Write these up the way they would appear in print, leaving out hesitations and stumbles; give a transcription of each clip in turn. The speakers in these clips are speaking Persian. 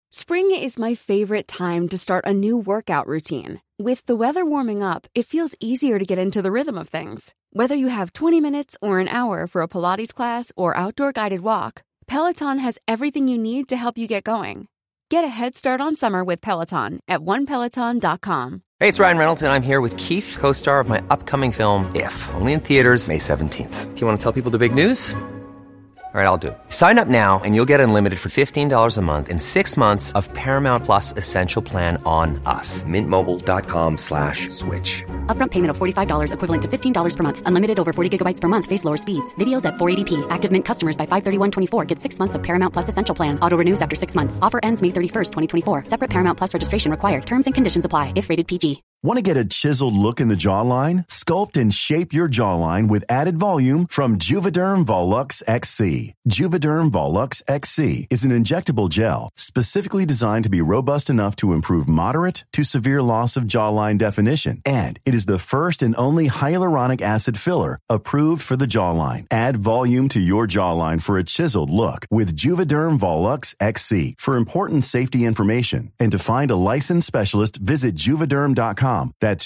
Spring is my favorite time to start a new workout routine. With the weather warming up, it feels easier to get into the rhythm of things. Whether you have 20 minutes or an hour for a Pilates class or outdoor guided walk, Peloton has everything you need to help you get going. Get a head start on summer with Peloton at onepeloton.com. Hey, it's Ryan Reynolds, and I'm here with Keith, co-star of my upcoming film, If, only in theaters May 17th. Do you want to tell people the big news? All right, I'll do it. Sign up now and you'll get unlimited for $15 a month and 6 months of Paramount Plus Essential Plan on us. MintMobile.com/switch. Upfront payment of $45 equivalent to $15 per month. Unlimited over 40 gigabytes per month. Face lower speeds. Videos at 480p. Active Mint customers by 531.24 get 6 months of Paramount Plus Essential Plan. Auto renews after 6 months. Offer ends May 31st, 2024. Separate Paramount Plus registration required. Terms and conditions apply if rated PG. Want to get a chiseled look in the jawline? Sculpt and shape your jawline with added volume from Juvederm Volux XC. Juvederm Volux XC is an injectable gel specifically designed to be robust enough to improve moderate to severe loss of jawline definition. And it is the first and only hyaluronic acid filler approved for the jawline. Add volume to your jawline for a chiseled look with Juvederm Volux XC. For important safety information and to find a licensed specialist, visit Juvederm.com. That's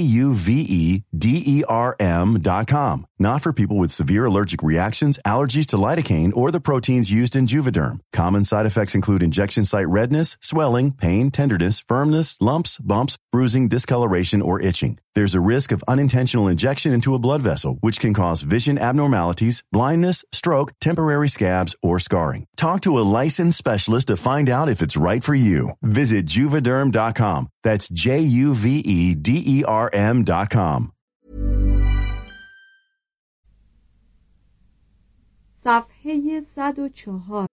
Juvederm.com. Not for people with severe allergic reactions, allergies to lidocaine, or the proteins used in Juvederm. Common side effects include injection site redness, swelling, pain, tenderness, firmness, lumps, bumps, bruising, discoloration, or itching. There's a risk of unintentional injection into a blood vessel, which can cause vision abnormalities, blindness, stroke, temporary scabs, or scarring. Talk to a licensed specialist to find out if it's right for you. Visit Juvederm.com. That's Juvederm.com. صفحه 104.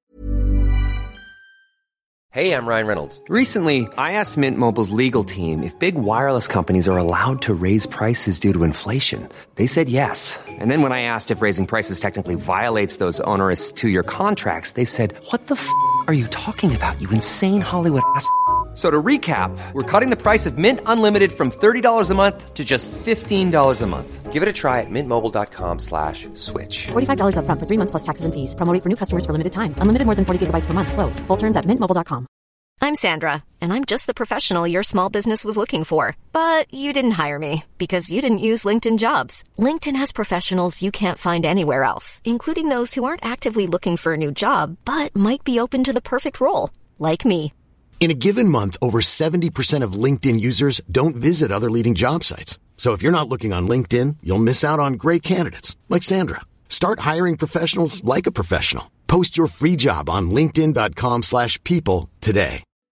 Hey, I'm Ryan Reynolds. Recently, I asked Mint Mobile's legal team if big wireless companies are allowed to raise prices due to inflation. They said yes. And then when I asked if raising prices technically violates those onerous 2-year contracts, they said, "What the are you talking about, you insane Hollywood ass?" So to recap, we're cutting the price of Mint Unlimited from $30 a month to just $15 a month. Give it a try at mintmobile.com/switch. $45 up front for 3 months plus taxes and fees. Promo rate for new customers for limited time. Unlimited more than 40 gigabytes per month. Slows full terms at mintmobile.com. I'm Sandra, and I'm just the professional your small business was looking for. But you didn't hire me because you didn't use LinkedIn Jobs. LinkedIn has professionals you can't find anywhere else, including those who aren't actively looking for a new job, but might be open to the perfect role, like me. In a given month, over 70% of LinkedIn users don't visit other leading job sites. So if you're not looking on LinkedIn, you'll miss out on great candidates like Sandra. Start hiring professionals like a professional. Post your free job on linkedin.com/people today.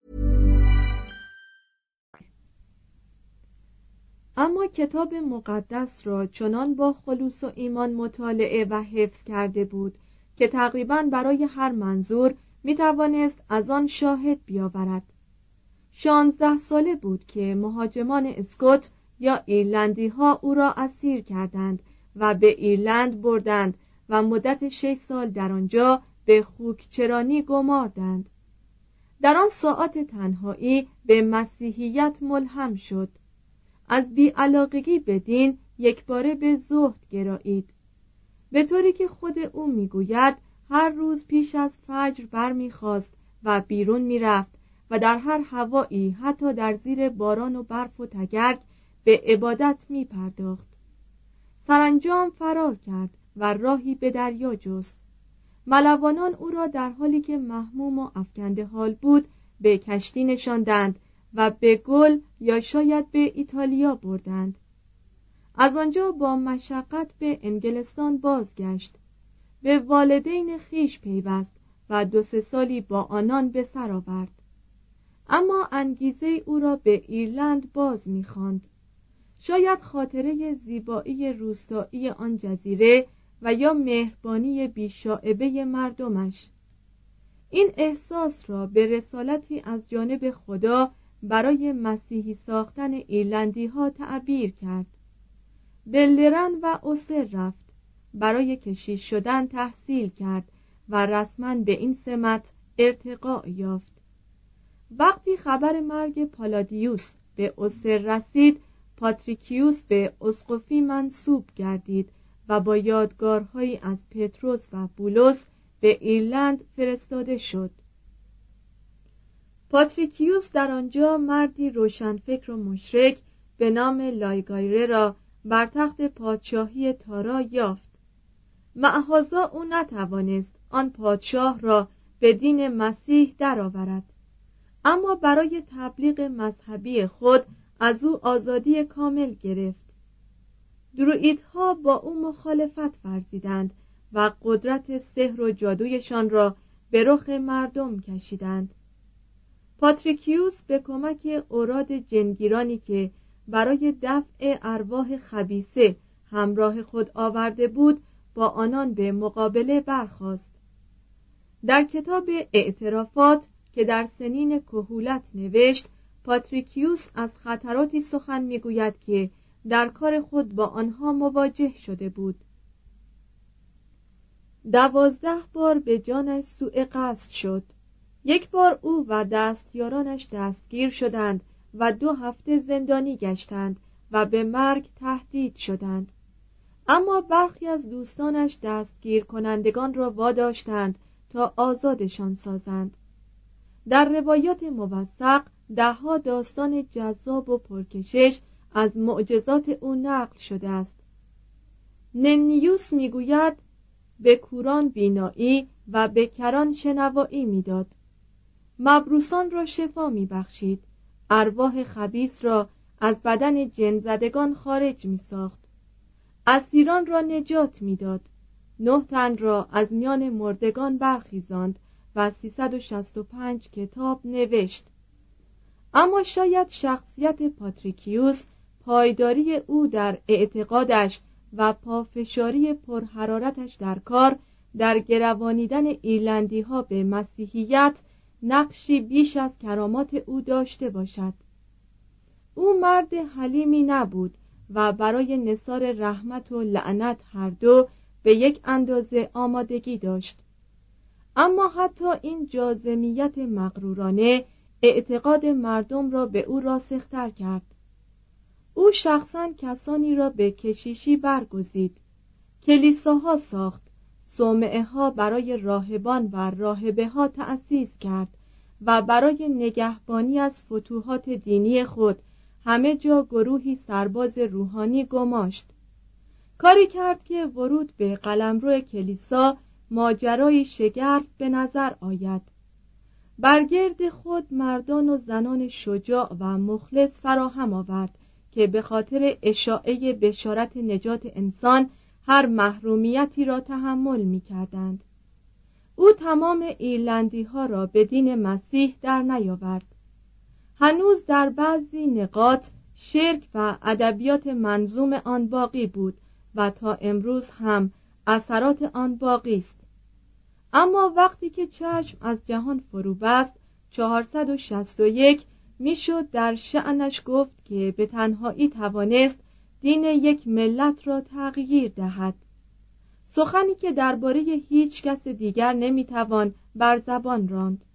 اما کتاب مقدس را چنان با خلوص و ایمان مطالعه و حفظ کرده بود که تقریباً برای هر منظور می توانست از آن شاهد بیاورد. 16 ساله بود که مهاجمان اسکوت یا ایرلندی ها او را اسیر کردند و به ایرلند بردند و مدت 6 سال در آنجا به خوکچرانی گماردند. در آن ساعات تنهایی به مسیحیت ملهم شد. از بی‌علاقگی به دین یکباره به زهد گرایید، به طوری که خود او میگوید هر روز پیش از فجر برمیخواست و بیرون میرفت و در هر هوایی حتی در زیر باران و برف و تگرگ به عبادت میپرداخت. سرانجام فرار کرد و راهی به دریا جست. ملوانان او را در حالی که محموم و افکنده حال بود به کشتی نشاندند و به گل یا شاید به ایتالیا بردند. از آنجا با مشقت به انگلستان بازگشت، به والدین خیش پیوست و 2-3 سالی با آنان به سر آورد. اما انگیزه او را به ایرلند باز می‌خواند. شاید خاطره زیبایی روستایی آن جزیره و یا مهربانی بی‌شائبه مردمش. این احساس را به رسالتی از جانب خدا برای مسیحی ساختن ایرلندی ها تعبیر کرد. به لرن و اوسر رفت، برای کشیش شدن تحصیل کرد و رسما به این سمت ارتقا یافت. وقتی خبر مرگ پالادیوس به اوسر رسید، پاتریکیوس به اسقفی منصوب گردید و با یادگارهایی از پتروس و بولس به ایرلند فرستاده شد. پاتریکیوس در آنجا مردی روشنفکر و مشرک به نام لایگایره را بر تخت پادشاهی تارا یافت. معاذا او نتوانست آن پادشاه را به دین مسیح درآورد، اما برای تبلیغ مذهبی خود از او آزادی کامل گرفت. دروئیدها با او مخالفت ورزیدند و قدرت سحر و جادویشان را به رخ مردم کشیدند. پاتریکیوس به کمک اوراد جنگیرانی که برای دفع ارواح خبیثه همراه خود آورده بود با آنان به مقابله برخاست. در کتاب اعترافات که در سنین کهولت نوشت، پاتریکیوس از خطراتی سخن میگوید که در کار خود با آنها مواجه شده بود. 12 بار به جانش سوء قصد شد. یک بار او و دستیارانش دستگیر شدند و 2 هفته زندانی گشتند و به مرگ تهدید شدند، اما برخی از دوستانش دستگیر کنندگان را واداشتند تا آزادشان سازند. در روایات موثق 10 داستان جذاب و پرکشش از معجزات او نقل شده است. ننیوس میگوید به کوران بینایی و به کران شنوایی میداد، مبروسان را شفا میبخشید، ارواح خبیث را از بدن جن زدگان خارج میساخت، اسیران را نجات میداد، 9 تن را از میان مردگان برخیزاند و 365 کتاب نوشت. اما شاید شخصیت پاتریکیوس، پایداری او در اعتقادش و پافشاری پرحرارتش در کار در گروانیدن ایرلندی ها به مسیحیت نقشی بیش از کرامات او داشته باشد. او مرد حلیمی نبود و برای نثار رحمت و لعنت هر دو به یک اندازه آمادگی داشت. اما حتی این جاذمیت مغرورانه اعتقاد مردم را به او راسختر کرد. او شخصاً کسانی را به کشیشی برگزید، کلیساها ساخت، صومعه ها برای راهبان و راهبه ها تأسیس کرد و برای نگهبانی از فتوحات دینی خود همه جا گروهی سرباز روحانی گماشت. کاری کرد که ورود به قلمرو کلیسا ماجرای شگرف به نظر آید. برگرد خود مردان و زنان شجاع و مخلص فراهم آورد که به خاطر اشاعه بشارت نجات انسان هر محرومیتی را تحمل می کردند. او تمام ایرلندی ها را به دین مسیح در نیاورد. هنوز در بعضی نقاط شرک و ادبیات منظوم آن باقی بود و تا امروز هم اثرات آن باقی است. اما وقتی که چشم از جهان فرو بست 461 میشد در شأنش گفت که به تنهایی توانست دین یک ملت را تغییر دهد، سخنی که درباره هیچ کس دیگر نمیتوان بر زبان راند.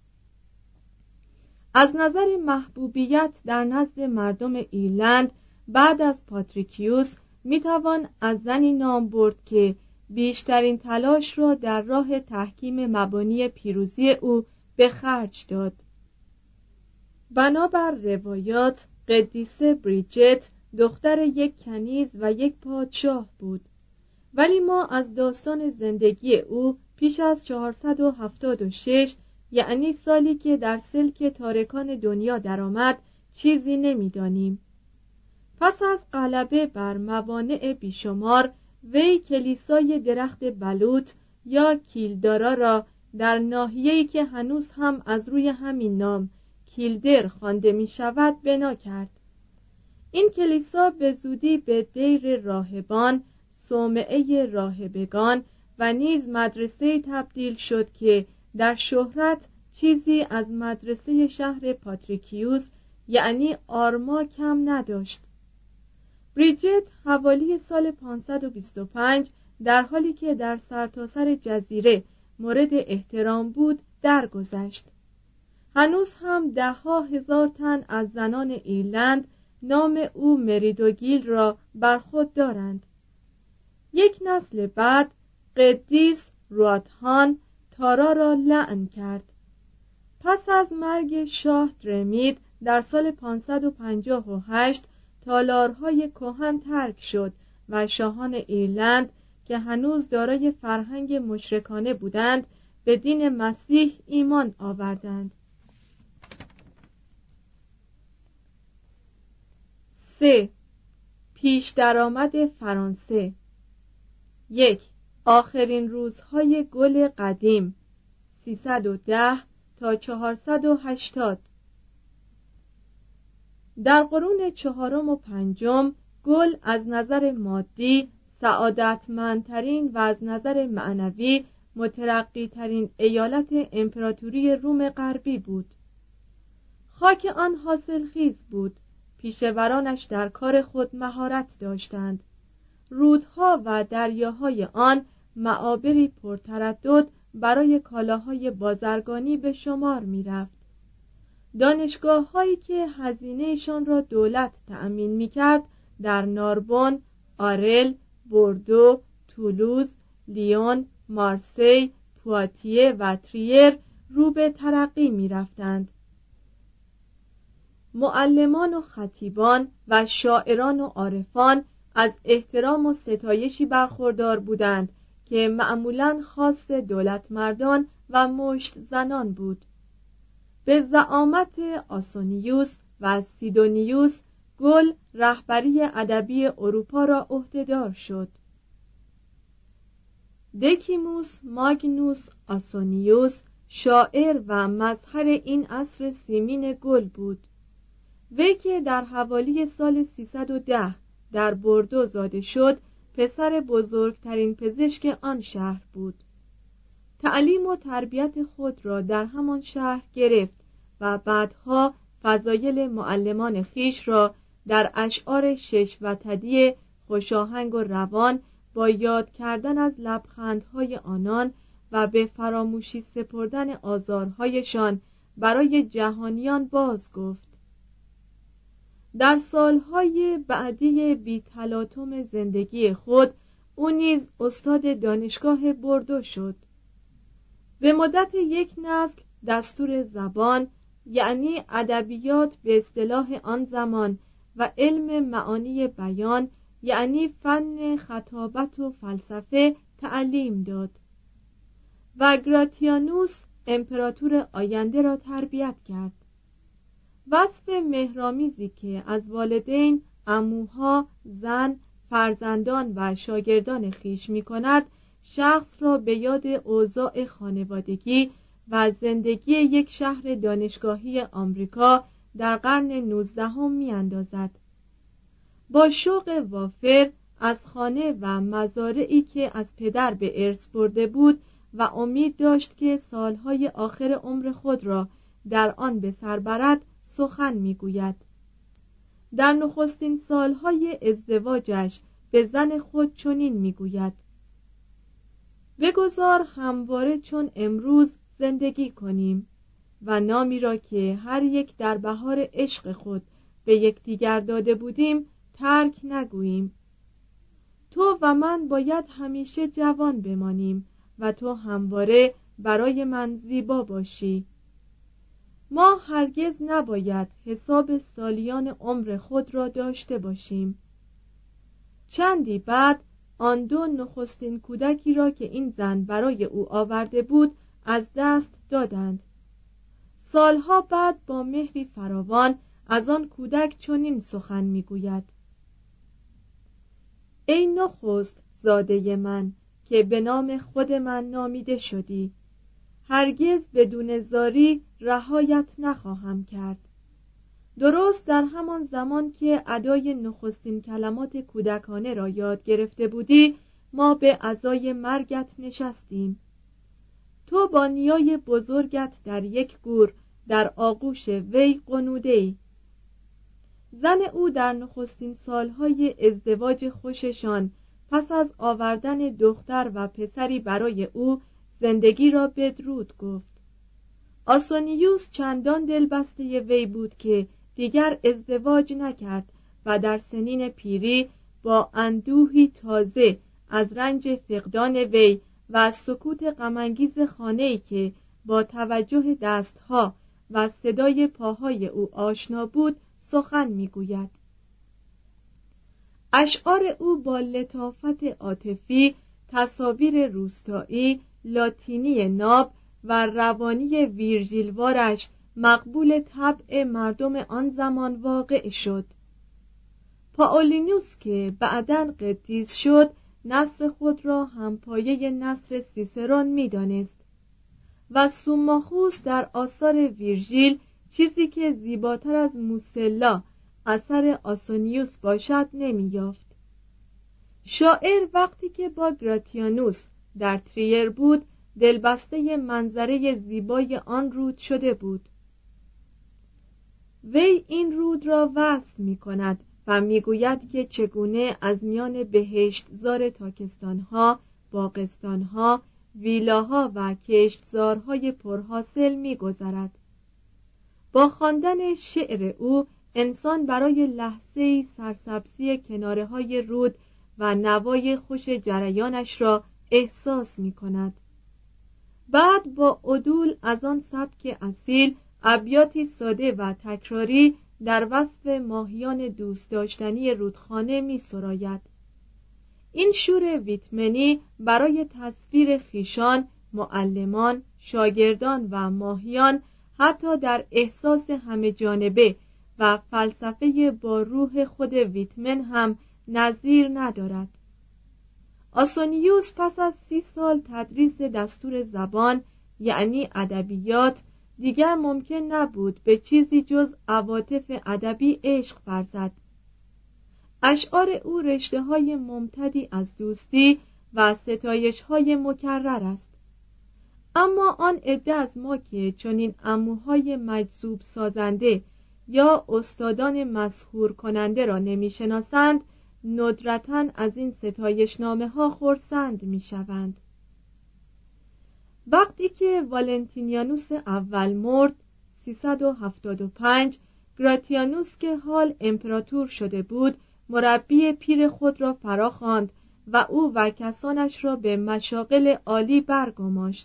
از نظر محبوبیت در نزد مردم ایرلند بعد از پاتریکیوس میتوان از زنی نام برد که بیشترین تلاش را در راه تحکیم مبانی پیروزی او به خرج داد. بنابر روایات قدیسه بریجت دختر یک کنیز و یک پادشاه بود، ولی ما از داستان زندگی او پیش از 476 یعنی سالی که در سلک تارکان دنیا درآمد چیزی نمی‌دانیم. پس از غلبه بر موانع بیشمار وی کلیسای درخت بلوط یا کیلدارا را در ناحیه‌ای که هنوز هم از روی همین نام کیلدر خوانده می شود بنا کرد. این کلیسا به زودی به دیر راهبان، صومعه راهبگان و نیز مدرسه تبدیل شد که در شهرت چیزی از مدرسه شهر پاتریکیوس یعنی آرما کم نداشت. بریجت حوالی سال 525 در حالی که در سرتاسر جزیره مورد احترام بود درگذشت. هنوز هم 10,000 تن از زنان ایرلند نام او مریدوگیل را بر خود دارند. یک نسل بعد قدیس رواتهان تارا را لعن کرد. پس از مرگ شاه درمید در سال 558 تالارهای کهن ترک شد و شاهان ایرلند که هنوز دارای فرهنگ مشرکانه بودند به دین مسیح ایمان آوردند. 3. پیش درآمد فرانسه. 1. آخرین روزهای گل قدیم 310 تا 480. در قرون چهارم و پنجم گل از نظر مادی سعادتمندترین و از نظر معنوی مترقی‌ترین ایالت امپراتوری روم غربی بود. خاک آن حاصلخیز بود، پیشورانش در کار خود مهارت داشتند. رودها و دریاهای آن معابری پرتردد برای کالاهای بازرگانی به شمار می رفت. دانشگاه هایی که هزینهشان را دولت تأمین می کرد در ناربون، آرل، بوردو، تولوز، لیون، مارسی، پواتیه و تریر رو به ترقی می رفتند. معلمان و خطیبان و شاعران و عارفان از احترام و ستایشی برخوردار بودند که معمولاً خاص دولت مردان و مشت زنان بود. به زعامت آسونیوس و سیدونیوس گل رهبری ادبی اروپا را عهدهدار شد. دکیموس ماگنوس آسونیوس شاعر و مظهر این عصر سیمین گل بود. وی که در حوالی سال 310 در بوردو زاده شد، پسر بزرگترین پزشک آن شهر بود. تعلیم و تربیت خود را در همان شهر گرفت و بعدها فضایل معلمان خیش را در اشعار شش وتدی خوشاهنگ و روان با یاد کردن از لبخندهای آنان و به فراموشی سپردن آزارهایشان برای جهانیان باز گفت. در سالهای بعدی بی تلاطم زندگی خود او نیز استاد دانشگاه بوردو شد. به مدت یک نسل دستور زبان، یعنی ادبیات به اصطلاح آن زمان، و علم معانی بیان، یعنی فن خطابت و فلسفه، تعلیم داد و گراتیانوس امپراتور آینده را تربیت کرد. وصف مهرامیزی که از والدین، عموها، زن، فرزندان و شاگردان خیش می کند شخص را به یاد اوضاع خانوادگی و زندگی یک شهر دانشگاهی آمریکا در قرن 19 می اندازد. با شوق وافر از خانه و مزارعی که از پدر به ارث برده بود و امید داشت که سالهای آخر عمر خود را در آن به سر برد سخن میگوید. در نخستین سالهای ازدواجش به زن خود چنین میگوید: بگذار همواره چون امروز زندگی کنیم و نامی را که هر یک در بهار عشق خود به یکدیگر داده بودیم ترک نگوییم. تو و من باید همیشه جوان بمانیم و تو همواره برای من زیبا باشی. ما هرگز نباید حساب سالیان عمر خود را داشته باشیم. چندی بعد آن دو نخستین کودکی را که این زن برای او آورده بود از دست دادند. سالها بعد با مهری فراوان از آن کودک چنین سخن میگوید: ای نخست زاده من که به نام خود من نامیده شدی، هرگز بدون زاری رهایت نخواهم کرد. درست در همان زمان که ادای نخستین کلمات کودکانه را یاد گرفته بودی، ما به عزای مرگت نشستیم. تو با نیای بزرگت در یک گور در آغوش وی غنوده‌ای. زن او در نخستین سالهای ازدواج خوششان پس از آوردن دختر و پسری برای او زندگی را بدرود گفت. آسونیوس چندان دلبسته وی بود که دیگر ازدواج نکرد و در سنین پیری با اندوهی تازه از رنج فقدان وی و سکوت غم‌انگیز خانه‌ای که با توجه دستها و صدای پاهای او آشنا بود سخن میگوید. اشعار او با لطافت عاطفی، تصاویر روستایی، لاتینی ناب و روانی ویرژیلوارش مقبول طبع مردم آن زمان واقع شد. پائولینوس که بعداً قدیس شد، نثر خود را همپایه نثر سیسرون می‌دانست و سوماخوس در آثار ویرژیل چیزی که زیباتر از موسلا اثر آسونیوس باشد نمی‌یافت. شاعر وقتی که با گراتیانوس در تریر بود، دلبسته منظره زیبای آن رود شده بود. وی این رود را وصف می‌کند و میگوید که چگونه از میان بهشتزار تاکستانها، باغستانها، ویلاها و کشتزارهای پرحاصل میگذرد. با خواندن شعر او انسان برای لحظه‌ای سرسبزی کناره‌های رود و نوای خوش جریانش را احساس می‌کند. بعد با عدول از آن سبک اصیل ابیاتی ساده و تکراری در وصف ماهیان دوست داشتنی رودخانه می سراید. این شور ویتمنی برای تصویر خیشان، معلمان، شاگردان و ماهیان حتی در احساس همه جانبه و فلسفه با روح خود ویتمن هم نظیر ندارد. آسونیوس پس از 30 سال تدریس دستور زبان یعنی ادبیات دیگر ممکن نبود به چیزی جز عواطف ادبی عشق ورزد. اشعار او رشته‌های ممتدی از دوستی و ستایش‌های مکرر است. اما آن عده از ما که چنین عموهای مجذوب سازنده یا استادان مسحور کننده را نمی‌شناسند، ندرتاً از این ستایشنامه‌ها خرسند می‌شوند. وقتی که والنتینیانوس اول مرد 375، گراتیانوس که حال امپراتور شده بود مربی پیر خود را فراخواند و او و کسانش را به مشاغل عالی برگماشت.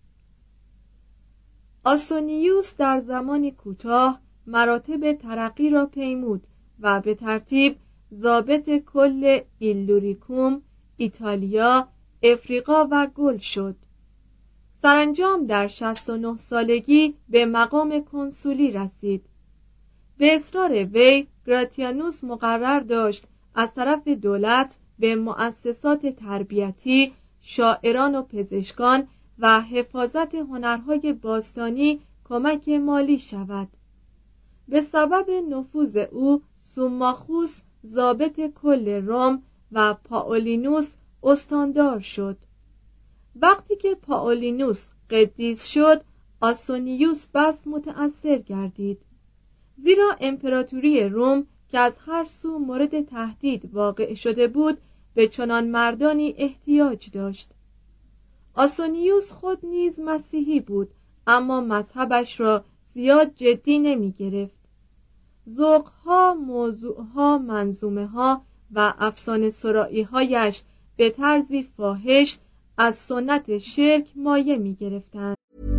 آسونیوس در زمانی کوتاه مراتب ترقی را پیمود و به ترتیب ضابط کل ایلوریکوم، ایتالیا، افریقا و گل شد. سرانجام در 69 سالگی به مقام کنسولی رسید. به اصرار وی گراتیانوس مقرر داشت از طرف دولت به مؤسسات تربیتی، شاعران و پزشکان و حفاظت هنرهای باستانی کمک مالی شود. به سبب نفوذ او سوماخوس ضابط کل روم و پائولینوس استاندار شد. وقتی که پائولینوس قدیس شد، آسونیوس بس متأثر گردید، زیرا امپراتوری روم که از هر سو مورد تهدید واقع شده بود به چنان مردانی احتیاج داشت. آسونیوس خود نیز مسیحی بود، اما مذهبش را زیاد جدی نمی گرفت. ذوقها، موضوعها، منظومه‌ها و افسانه سرایی‌هایش به طرزی فاحش از سنت شرک مایه می گرفتند.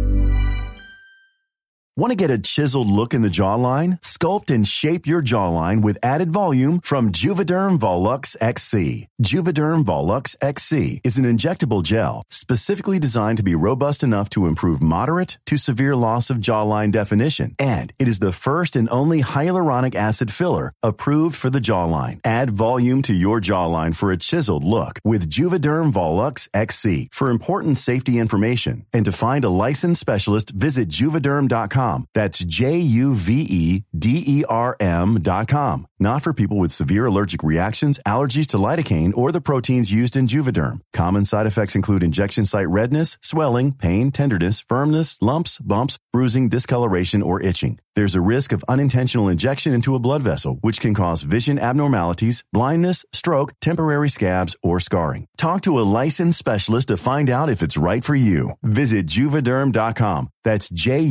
Want to get a chiseled look in the jawline? Sculpt and shape your jawline with added volume from Juvederm Volux XC. Juvederm Volux XC is an injectable gel specifically designed to be robust enough to improve moderate to severe loss of jawline definition. And it is the first and only hyaluronic acid filler approved for the jawline. Add volume to your jawline for a chiseled look with Juvederm Volux XC. For important safety information and to find a licensed specialist, visit juvederm.com. That's JUVEDERM.com. Not for people with severe allergic reactions, allergies to lidocaine, or the proteins used in Juvederm. Common side effects include injection site redness, swelling, pain, tenderness, firmness, lumps, bumps, bruising, discoloration, or itching. There's a risk of unintentional injection into a blood vessel, which can cause vision abnormalities, blindness, stroke, temporary scabs, or scarring. Talk to a licensed specialist to find out if it's right for you. Visit Juvederm.com. That's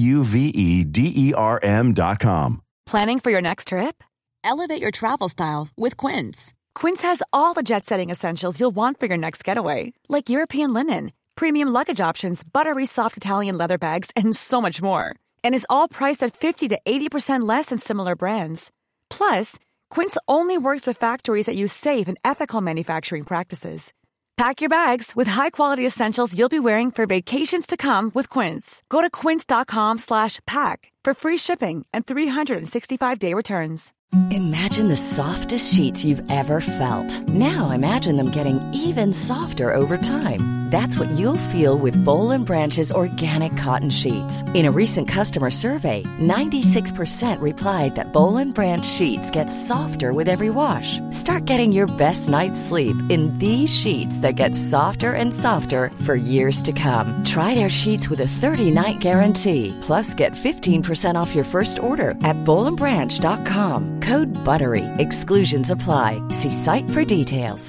JUVEDERM.com. Planning for your next trip? Elevate your travel style with Quince. Quince has all the jet-setting essentials you'll want for your next getaway, like European linen, premium luggage options, buttery soft Italian leather bags, and so much more. And is all priced at 50 to 80% less than similar brands. Plus, Quince only works with factories that use safe and ethical manufacturing practices. Pack your bags with high-quality essentials you'll be wearing for vacations to come with Quince. Go to quince.com/pack for free shipping and 365-day returns. Imagine the softest sheets you've ever felt. Now imagine them getting even softer over time. That's what you'll feel with Boll & Branch's organic cotton sheets. In a recent customer survey, 96% replied that Boll & Branch sheets get softer with every wash. Start getting your best night's sleep in these sheets that get softer and softer for years to come. Try their sheets with a 30-night guarantee. Plus, get 15% off your first order at bollandbranch.com. Code BUTTERY. Exclusions apply. See site for details.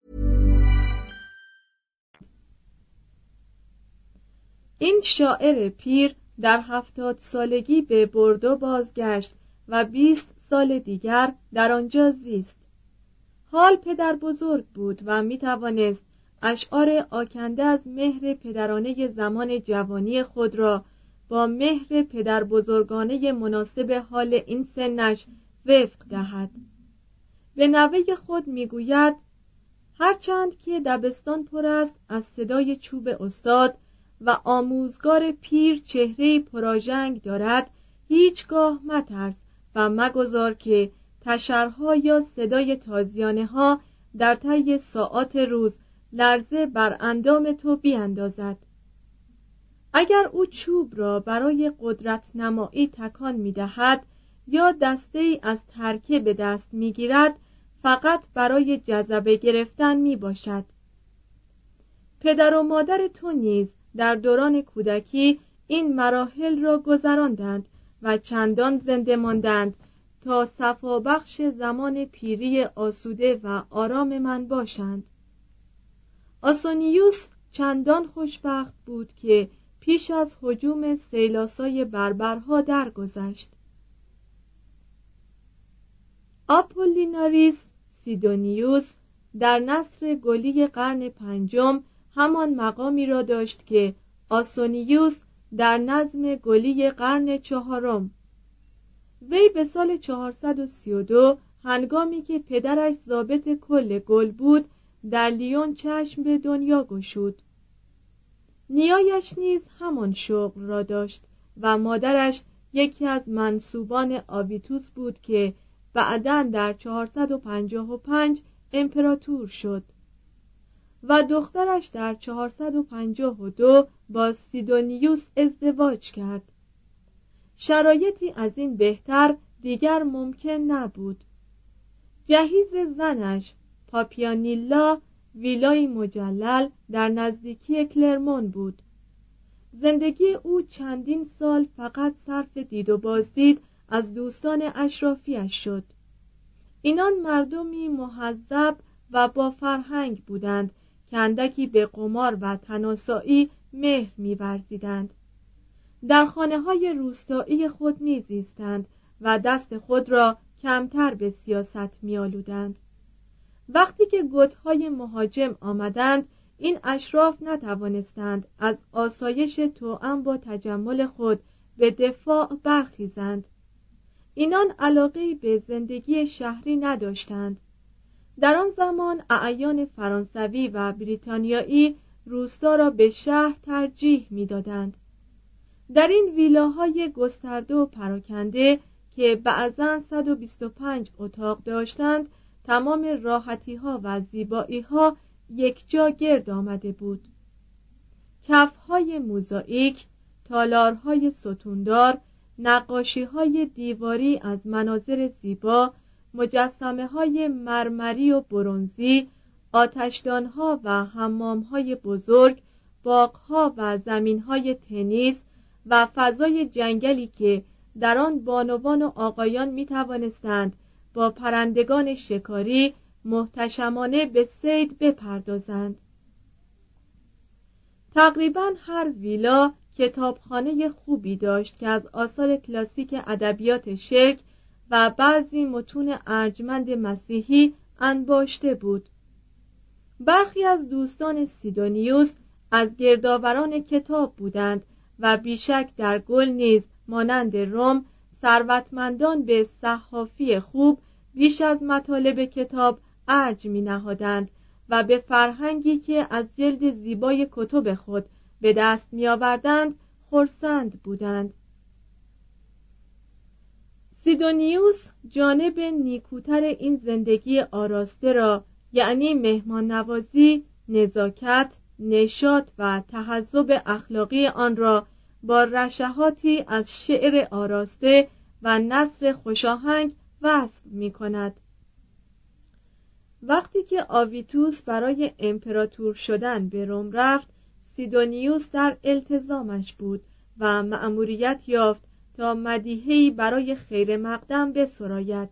این شاعر پیر در 70 سالگی به بوردو بازگشت و 20 سال دیگر در آنجا زیست. حال پدر بزرگ بود و می توانست اشعار آکنده از مهر پدرانه زمان جوانی خود را با مهر پدر بزرگانه مناسب حال این سنش وفق دهد. به نوه خود می گوید هرچند که دبستان پر است از صدای چوب استاد و آموزگار پیر چهره‌ای پراژنگ دارد، هیچگاه مترس و مگذار که تشرها یا صدای تازیانه ها در طی ساعات روز لرزه بر اندام تو بیاندازد. اگر او چوب را برای قدرت نمایی تکان می دهد یا دسته ای از ترکه به دست می گیرد، فقط برای جذبه گرفتن می باشد. پدر و مادر تو نیز در دوران کودکی این مراحل را گذراندند و چندان زنده ماندند تا صفابخش زمان پیری آسوده و آرام من باشند. آسونیوس چندان خوشبخت بود که پیش از هجوم سیلاسای بربرها درگذشت. آپولیناریس سیدونیوس در نثر گلی قرن 5 همان مقامی را داشت که آسونیوس در نظم گلی قرن 4. وی به سال 432 هنگامی که پدرش ضابط کل گل بود در لیون چشم به دنیا گشود. نیایش نیز همان شغل را داشت و مادرش یکی از منسوبان آویتوس بود که بعداً در 455 امپراتور شد و دخترش در 452 با سیدونیوس ازدواج کرد. شرایطی از این بهتر دیگر ممکن نبود. جهیز زنش پاپیانیلا ویلای مجلل در نزدیکی کلرمون بود. زندگی او چندین سال فقط صرف دید و بازدید از دوستان اشرافیش شد. اینان مردمی مهذب و با فرهنگ بودند که اندکی به قمار و تناسایی مهر می‌ورزیدند. در خانه‌های روستایی خود می‌زیستند و دست خود را کمتر به سیاست می‌آلودند. وقتی که گوت‌های مهاجم آمدند، این اشراف نتوانستند از آسایش توأم با تجمل خود به دفاع برخیزند. اینان علاقه‌ای به زندگی شهری نداشتند. در آن زمان اعیان فرانسوی و بریتانیایی روستا را به شهر ترجیح می‌دادند. در این ویلاهای گسترده و پراکنده که بعضاً 125 اتاق داشتند، تمام راحتی‌ها و زیبایی‌ها یکجا گرد آمده بود. کف‌های موزاییک، تالارهای ستوندار، نقاشی‌های دیواری از مناظر زیبا، مجسمه‌های مرمری و برنزی، آتشدان‌ها و حمام‌های بزرگ، باغ‌ها و زمین‌های تنیس و فضای جنگلی که در آن بانوان و آقایان می‌توانستند با پرندگان شکاری محتشمانه به صید بپردازند. تقریباً هر ویلا کتابخانه خوبی داشت که از آثار کلاسیک ادبیات شرق و بعضی متون ارجمند مسیحی انباشته بود. برخی از دوستان سیدونیوس از گردآوران کتاب بودند و بیشک در گل نیز مانند روم ثروتمندان به صحافی خوب بیش از مطالب کتاب ارج می نهادند و به فرهنگی که از جلد زیبای کتب خود به دست می آوردند خرسند بودند. سیدونیوس جانب نیکوتر این زندگی آراسته را، یعنی مهمان نوازی، نزاکت، نشاط و تهذب اخلاقی آن را با رشحاتی از شعر آراسته و نثر خوشاهنگ وصف می کند. وقتی که آویتوس برای امپراتور شدن به روم رفت، سیدونیوس در التزامش بود و مأموریت یافت تا مدیحه‌ای برای خیر مقدم بسراید.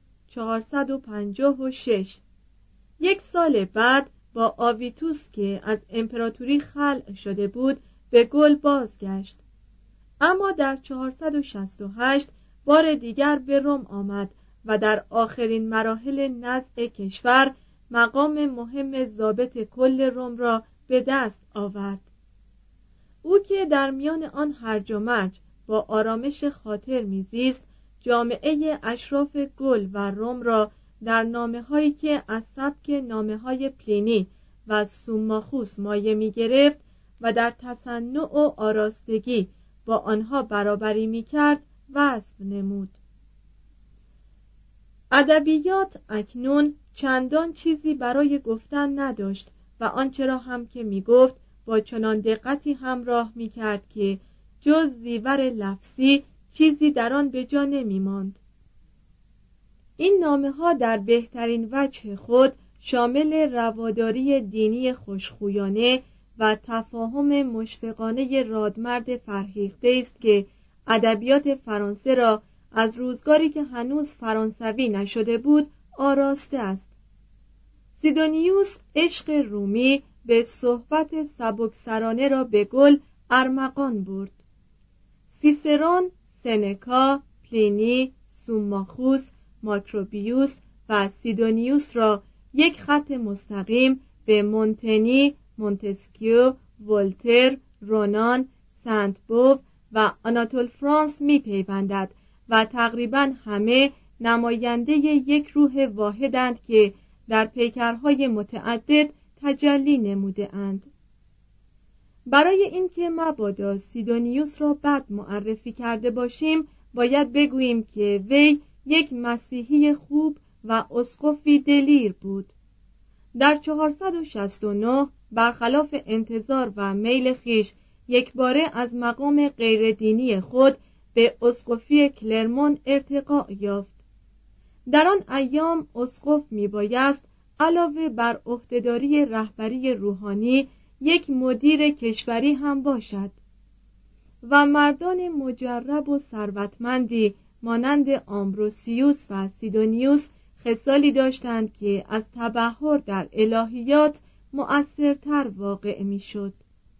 456. یک سال بعد با آویتوس که از امپراتوری خلع شده بود به گل بازگشت، اما در 468 بار دیگر به روم آمد و در آخرین مراحل نزع کشور مقام مهم ضابط کل روم را به دست آورد. او که در میان آن هرج و مرج با آرامش خاطر میزیست، جامعه اشراف گل و روم را در نامه‌هایی که از سبک نامه‌های پلینی و سوماخوس مایه می‌گرفت و در تصنع و آراستگی با آنها برابری می‌کرد وصف نمود. ادبیات اکنون چندان چیزی برای گفتن نداشت و آنچه را هم که می‌گفت با چنان دقتی همراه می‌کرد که جز زیور لفظی چیزی در آن به جا نمی‌ماند. این نامه‌ها در بهترین وجه خود شامل رواداری دینی خوشخویانه و تفاهم مشفقانه رادمرد فرهیخته است که ادبیات فرانسه را از روزگاری که هنوز فرانسوی نشده بود آراسته است. سیدونیوس عشق رومی به صحبت سبکسرانه را به گل ارمغان برد. سیسرون، سنکا، پلینی، سوماخوس، ماکروبیوس و سیدونیوس را یک خط مستقیم به مونتنی، مونتسکیو، ولتر، رونان، سنت بوو و آناتول فرانس می پیوندد و تقریبا همه نماینده یک روح واحدند که در پیکرهای متعدد تجلی نموده اند. برای اینکه مبادا سیدونیوس را بد معرفی کرده باشیم، باید بگوییم که وی یک مسیحی خوب و اسقفی دلیر بود. در 469 برخلاف انتظار و میل خیش یکباره از مقام غیردینی خود به اسقفی کلرمون ارتقا یافت. در آن ایام اسقف میبایست علاوه بر عهدهداری رهبری روحانی یک مدیر کشوری هم باشد و مردان مجرب و ثروتمندی مانند آمبروسیوس و سیدونیوس خصالی داشتند که از تبحر در الهیات مؤثرتر واقع میشد.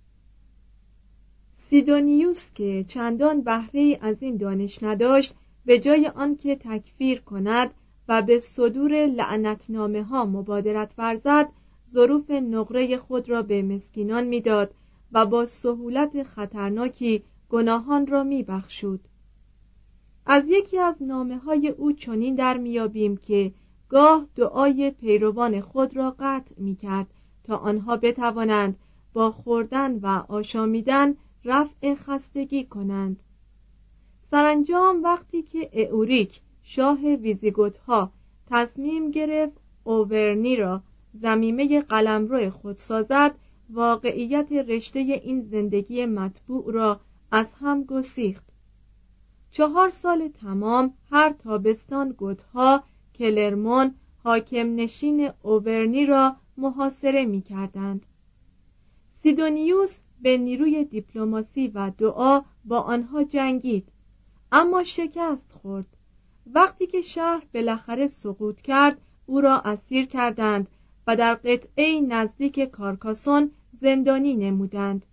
سیدونیوس که چندان بهره‌ای از این دانش نداشت، به جای آنکه تکفیر کند و به صدور لعنتنامه ها مبادرت ورزد، ظروف نقره خود را به مسکینان میداد و با سهولت خطرناکی گناهان را میبخشود. از یکی از نامه‌های او چنین در میابیم که گاه دعای پیروان خود را قطع میکرد تا آنها بتوانند با خوردن و آشامیدن رفع خستگی کنند. سرانجام وقتی که اؤریک شاه ویزیگوت‌ها تصمیم گرفت اوورنی را ضمیمه قلمرو خود سازد، واقعیت رشته این زندگی مطبوع را از هم گسیخت. 4 سال تمام هر تابستان گوت‌ها کلرمون حاکم نشین اوورنی را محاصره می کردند. سیدونیوس به نیروی دیپلماسی و دعا با آنها جنگید، اما شکست خورد. وقتی که شهر بالاخره سقوط کرد، او را اسیر کردند و در قطعه نزدیک کارکاسون زندانی نمودند.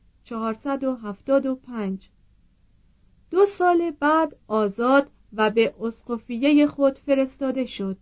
475. 2 سال بعد آزاد و به اسقفیه خود فرستاده شد.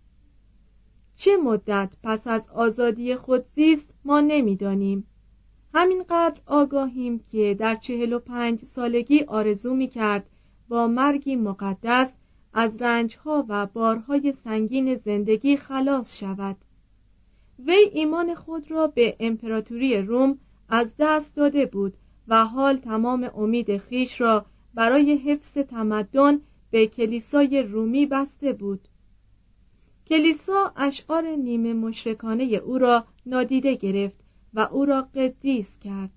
چه مدت پس از آزادی خود زیست ما نمی‌دانیم. همینقدر آگاهیم که در 45 سالگی آرزو می‌کرد با مرگی مقدس از رنج‌ها و بارهای سنگین زندگی خلاص شود. وی ایمان خود را به امپراتوری روم از دست داده بود و حال تمام امید خیش را برای حفظ تمدن به کلیسای رومی بسته بود. کلیسا اشعار نیمه مشرکانه او را نادیده گرفت و او را قدیس کرد.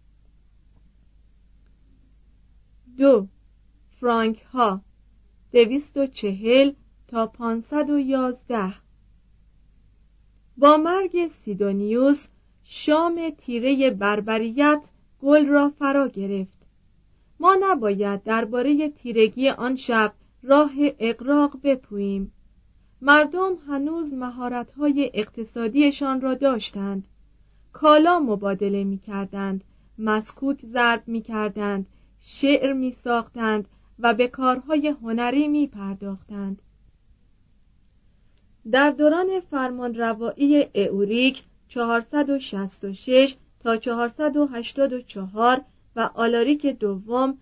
2. فرانک ها 240 تا 511. با مرگ سیدونیوس شام تیره بربریت گل را فرا گرفت. ما نباید درباره تیرگی آن شب راه اغراق بپوییم. مردم هنوز مهارت‌های اقتصادیشان را داشتند. کالا مبادله می‌کردند، مسکوک ضرب می‌کردند، شعر می‌ساختند و به کارهای هنری می‌پرداختند. در دوران فرمانروایی اوریک 466 تا 484 و آلاریک دوم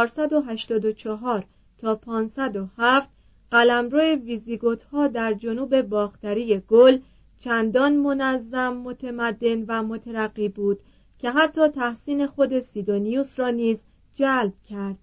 484 تا 507 قلمرو ویزیگوت‌ها در جنوب باختری گل چندان منظم، متمدن و مترقی بود که حتی تحسین خود سیدونیوس را نیز جلب کرد.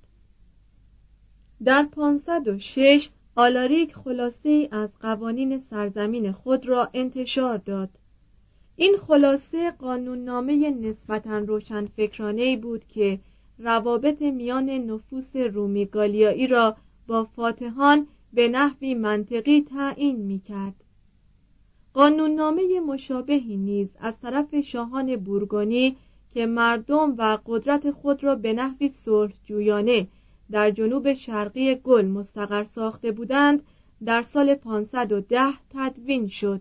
در 506 آلاریک خلاصه‌ای از قوانین سرزمین خود را انتشار داد. این خلاصه قانوننامه نسبتاً روشنفکرانه‌ای بود که روابط میان نفوس رومی گالیایی را با فاتحان به نحوی منطقی تعیین می‌کرد. قانوننامه مشابهی نیز از طرف شاهان بورگونی که مردم و قدرت خود را به نحوی صلح‌جویانه در جنوب شرقی گل مستقر ساخته بودند در سال 510 تدوین شد.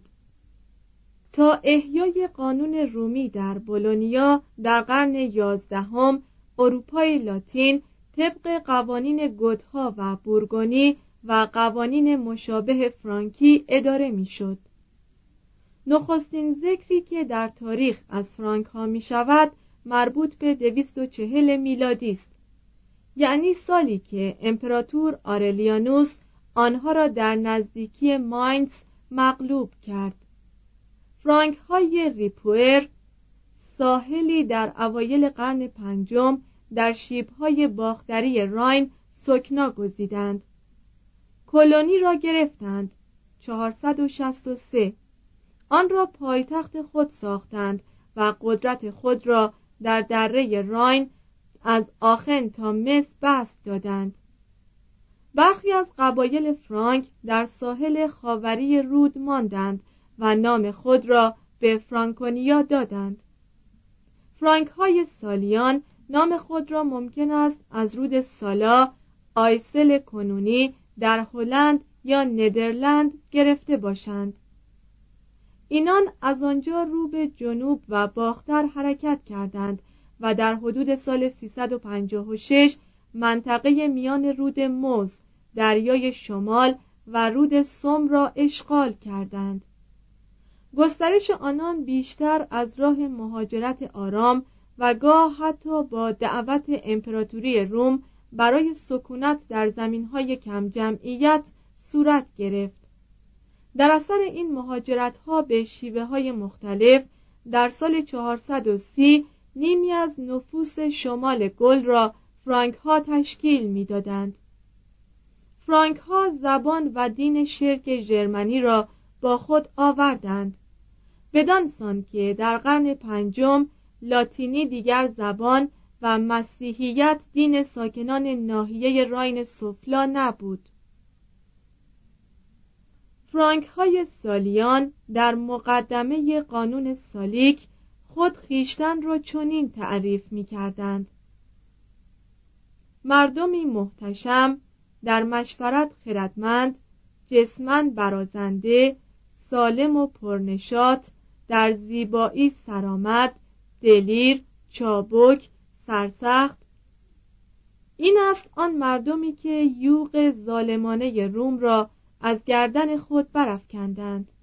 تا احیای قانون رومی در بولونیا در قرن 11 اروپای لاتین طبق قوانین گوتها و بورگونی و قوانین مشابه فرانکی اداره می‌شد. نخستین ذکری که در تاریخ از فرانک ها می شود مربوط به 240 میلادی است، یعنی سالی که امپراتور آرلیانوس آنها را در نزدیکی ماینز مغلوب کرد. فرانک های ریپوئر ساحلی در اوایل قرن 5 در شیب‌های باختری راین سکنا گزیدند. کلونی را گرفتند 463، آن را پایتخت خود ساختند و قدرت خود را در دره راین از آخن تا مس بسط دادند. برخی از قبایل فرانک در ساحل خاوری رود ماندند و نام خود را به فرانکونیا دادند. فرانک های سالیان نام خود را ممکن است از رود سالا، آیسل کنونی در هلند یا ندرلند گرفته باشند. اینان از آنجا رو به جنوب و باختر حرکت کردند و در حدود سال 356 منطقه میان رود موز، دریای شمال و رود سوم را اشغال کردند. گسترش آنان بیشتر از راه مهاجرت آرام و گاه حتی با دعوت امپراتوری روم برای سکونت در زمینهای کم جمعیت صورت گرفت. در اثر این مهاجرت‌ها به شیوه‌های مختلف در سال 430 نیمی از نفوس شمال گل را فرانک ها تشکیل می‌دادند. فرانک ها زبان و دین شرک ژرمنی را با خود آوردند، بدان سان که در قرن 5 لاتینی دیگر زبان و مسیحیت دین ساکنان ناحیه راین سفلا نبود. فرانک های سالیان در مقدمه قانون سالیک خود خیشتن را چنین تعریف می کردند: مردمی محتشم، در مشورت خردمند، جسماً برازنده، سالم و پرنشاط، در زیبایی سرآمد، دلیر، چابک، سرسخت. این است آن مردمی که یوغ ظالمانه روم را از گردن خود برافکندند.